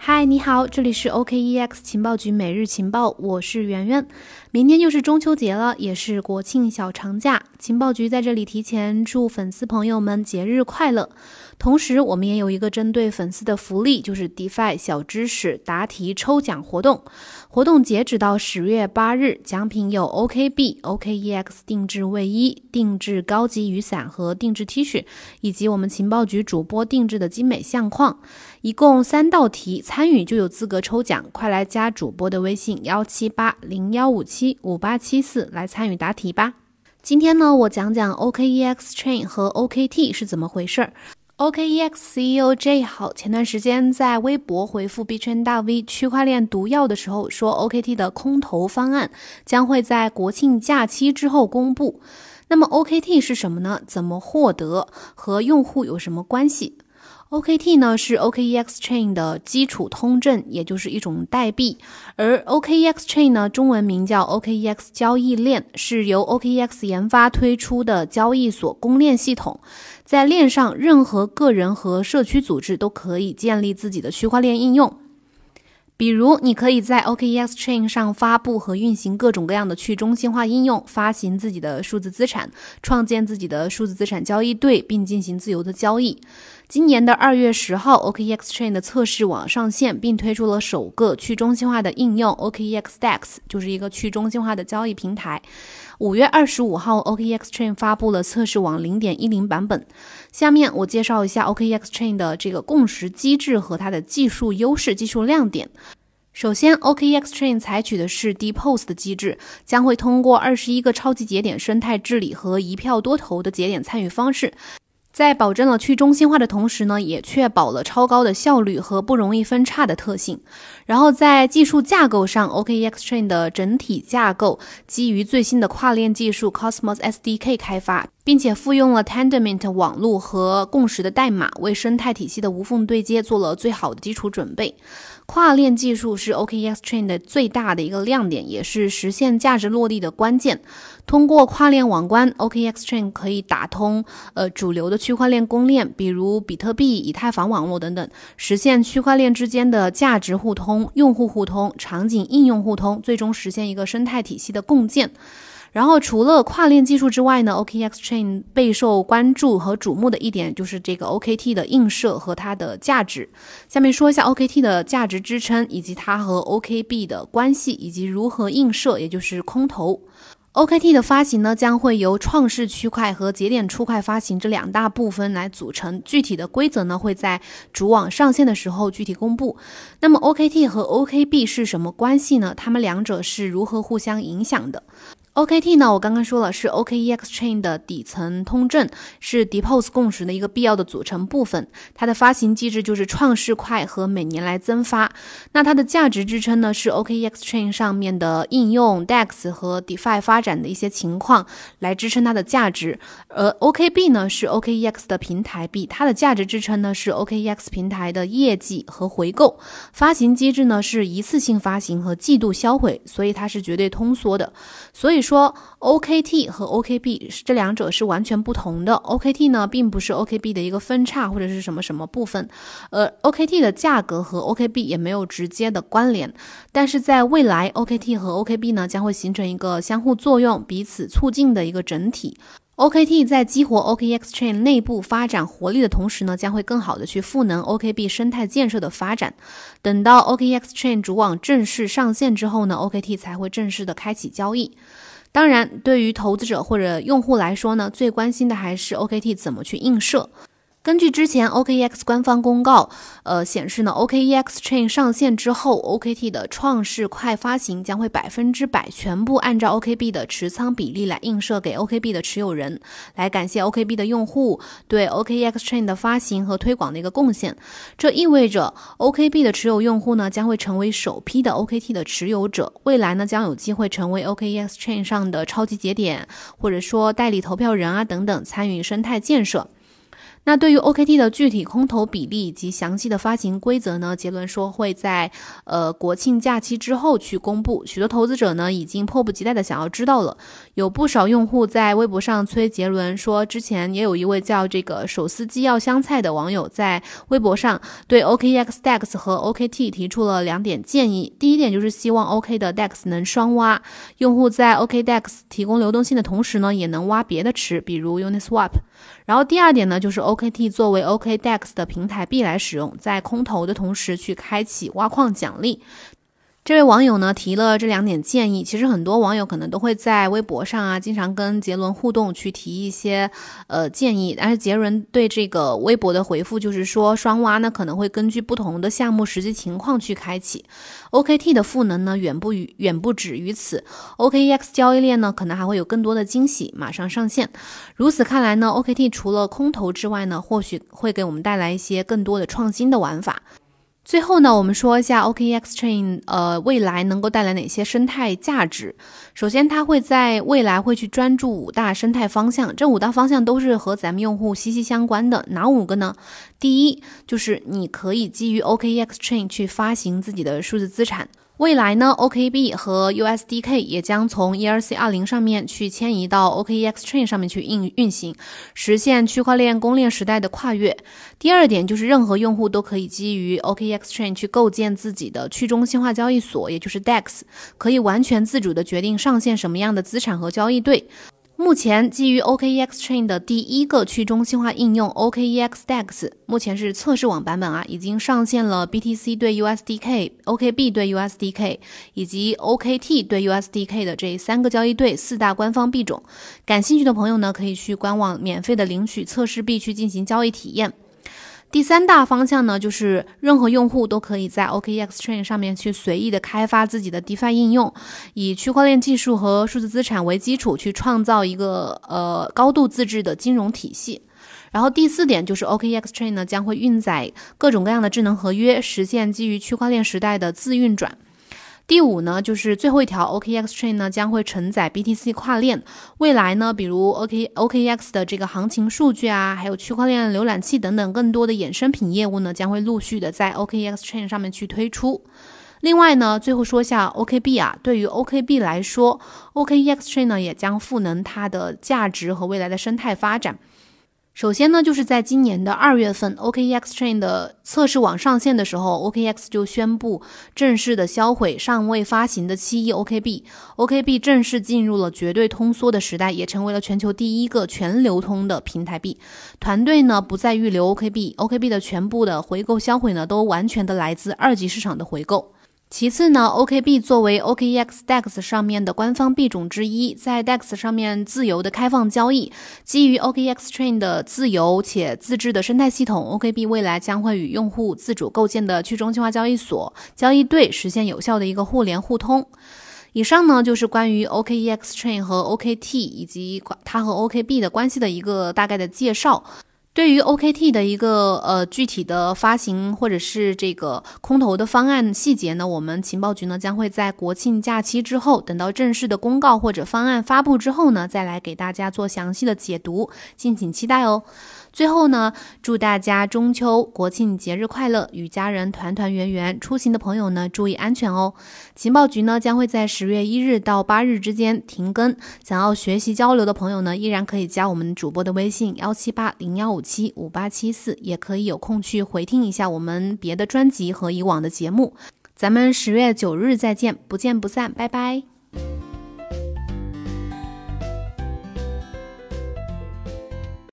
嗨，你好，这里是 OKEX 情报局每日情报，我是圆圆。明天就是中秋节了，也是国庆小长假，情报局在这里提前祝粉丝朋友们节日快乐。同时，我们也有一个针对粉丝的福利，就是 DeFi 小知识答题抽奖活动。活动截止到10月8日，奖品有 OKB、OKEX 定制卫衣、定制高级雨伞和定制 T 恤，以及我们情报局主播定制的精美相框。一共3道题，参与就有资格抽奖，快来加主播的微信17801575874来参与答题吧。今天呢，我讲讲 OKEX Chain 和 OKT 是怎么回事。OKEX CEO Jay 好前段时间在微博回复币圈大 V 区块链毒药的时候说 OKT 的空投方案将会在国庆假期之后公布。那么 OKT 是什么呢？怎么获得？和用户有什么关系？OKT 呢是 OKEX Chain 的基础通证，也就是一种代币，而 OKEX Chain 呢中文名叫 OKEX 交易链，是由 OKEX 研发推出的交易所公链系统。在链上，任何个人和社区组织都可以建立自己的区块链应用。比如，你可以在 OKEX Chain 上发布和运行各种各样的去中心化应用，发行自己的数字资产，创建自己的数字资产交易对，并进行自由的交易。今年的2月10号 ，OKEX Chain 的测试网上线，并推出了首个去中心化的应用 OKEX DEX， 就是一个去中心化的交易平台。5月25号 ，OKEX Chain 发布了测试网 0.10 版本。下面我介绍一下 OKEX Chain 的这个共识机制和它的技术优势、技术亮点。首先 ，OKEX Chain 采取的是 DPoS 的机制，将会通过21个超级节点生态治理和一票多投的节点参与方式，在保证了去中心化的同时呢，也确保了超高的效率和不容易分叉的特性。然后在技术架构上 ，OKEX Chain 的整体架构基于最新的跨链技术 Cosmos SDK 开发，并且复用了 Tendermint 网络和共识的代码，为生态体系的无缝对接做了最好的基础准备。跨链技术是 OKEX Chain 的最大的一个亮点，也是实现价值落地的关键。通过跨链网关 ，OKEX Chain 可以打通主流的区块链公链，比如比特币、以太坊网络等等，实现区块链之间的价值互通、用户互通、场景应用互通，最终实现一个生态体系的共建。然后除了跨链技术之外呢 ，OKEX Chain 备受关注和瞩目的一点就是这个 OKT 的映射和它的价值。下面说一下 OKT 的价值支撑，以及它和 OKB 的关系，以及如何映射，也就是空投。OKT 的发行呢，将会由创世区块和节点出块发行这2大部分来组成，具体的规则呢会在主网上线的时候具体公布。那么 OKT 和 OKB 是什么关系呢？它们两者是如何互相影响的？OKT 呢，我刚刚说了是 OKEX Chain 的底层通证，是 DPoS 共识的一个必要的组成部分。它的发行机制就是创世块和每年来增发。那它的价值支撑呢，是 OKEX Chain 上面的应用 DEX 和 DeFi 发展的一些情况来支撑它的价值。而 OKB 呢，是 OKEX 的平台币，它的价值支撑呢是 OKEX 平台的业绩和回购。发行机制呢是一次性发行和季度销毁，所以它是绝对通缩的。所以说 OKT 和 OKB 这两者是完全不同的。OKT 呢并不是 OKB 的一个分叉或者是什么什么部分，OKT 的价格和 OKB 也没有直接的关联，但是在未来 OKT 和 OKB 呢将会形成一个相互作用、彼此促进的一个整体。OKT 在激活 OKEX Chain 内部发展活力的同时呢，将会更好的去赋能 OKB 生态建设的发展。等到 OKEX Chain 主网正式上线之后呢 ，OKT 才会正式的开启交易。当然，对于投资者或者用户来说呢，最关心的还是 OKT 怎么去映射。根据之前 OKEX 官方公告显示呢 ，OKEX Chain 上线之后 ，OKT 的创世块发行将会100%全部按照 OKB 的持仓比例来映射给 OKB 的持有人，来感谢 OKB 的用户对 OKEX Chain 的发行和推广的一个贡献。这意味着 OKB 的持有用户呢将会成为首批的 OKT 的持有者，未来呢将有机会成为 OKEX Chain 上的超级节点，或者说代理投票人啊等等，参与生态建设。 那对于 OKT 的具体空头比例以及详细的发行规则呢，杰伦说会在国庆假期之后去公布。许多投资者呢已经迫不及待的想要知道了。有不少用户在微博上催杰伦说，之前也有一位叫这个手撕鸡要香菜的网友在微博上对 OKEX DEX 和 OKT 提出了2点建议。第一点就是希望 OK 的 DEX 能双挖，用户在 OKDEX 提供流动性的同时呢，也能挖别的池，比如 Uniswap。然后第二点呢，就是 OKT 作为 OKDEX 的平台币来使用，在空投的同时去开启挖矿奖励。这位网友呢提了这2点建议，其实很多网友可能都会在微博上啊，经常跟杰伦互动去提一些建议，但是杰伦对这个微博的回复就是说，双挖呢可能会根据不同的项目实际情况去开启。OKT 的赋能呢远不止于此 ，OKEX 交易链呢可能还会有更多的惊喜马上上线。如此看来呢 ，OKT 除了空投之外呢，或许会给我们带来一些更多的创新的玩法。最后呢，我们说一下 OKEX Chain 未来能够带来哪些生态价值。首先它会在未来会去专注5大生态方向，这5大方向都是和咱们用户息息相关的。哪5个呢？第一就是你可以基于 OKEX Chain 去发行自己的数字资产。未来呢 OKB 和 USDK 也将从 ERC20 上面去迁移到 OKEX Chain 上面去运行，实现区块链公链时代的跨越。第二点就是任何用户都可以基于 OKEX Chain 去构建自己的去中心化交易所，也就是 DEX， 可以完全自主的决定上线什么样的资产和交易对。目前基于 OKEX Chain 的第一个去中心化应用 OKEX DEX 目前是测试网版本啊，已经上线了 BTC 对 USDK、OKB 对 USDK 以及 OKT 对 USDK 的这3个交易对4大官方币种。感兴趣的朋友呢，可以去官网免费的领取测试币去进行交易体验。第3大方向呢，就是任何用户都可以在 OKEX Chain 上面去随意的开发自己的 DeFi 应用，以区块链技术和数字资产为基础去创造一个高度自治的金融体系。然后第4点就是 OKEX Chain 呢将会运载各种各样的智能合约，实现基于区块链时代的自运转。第5呢，就是最后一条 OKEX Chain 呢将会承载 BTC 跨链，未来呢，比如 OKEX 的这个行情数据啊，还有区块链浏览器等等更多的衍生品业务呢，将会陆续的在 OKEX Chain 上面去推出。另外呢，最后说一下 OKB 啊，对于 OKB 来说 ，OKEX Chain 呢也将赋能它的价值和未来的生态发展。首先呢，就是在今年的2月份 OKEX Chain 的测试网上线的时候， OKEX 就宣布正式的销毁尚未发行的7亿 OKB 正式进入了绝对通缩的时代，也成为了全球第一个全流通的平台币。团队呢不再预留 OKB 的全部的回购销毁呢都完全的来自2级市场的回购。其次呢 ，OKB 作为 OKEX DEX 上面的官方币种之一，在 DEX 上面自由的开放交易，基于 OKEX Chain 的自由且自治的生态系统 ，OKB 未来将会与用户自主构建的去中心化交易所、交易对实现有效的一个互联互通。以上呢就是关于 OKEX Chain 和 OKT 以及它和 OKB 的关系的一个大概的介绍。对于 OKT 的一个具体的发行或者是这个空投的方案细节呢，我们情报局呢将会在国庆假期之后，等到正式的公告或者方案发布之后呢，再来给大家做详细的解读，敬请期待哦。最后呢，祝大家中秋国庆节日快乐，与家人团团圆圆。出行的朋友呢，注意安全哦。情报局呢将会在10月1日到8日之间停更，想要学习交流的朋友呢，依然可以加我们主播的微信17801575874，也可以有空去回听一下我们别的专辑和以往的节目。咱们10月9日再见，不见不散，拜拜。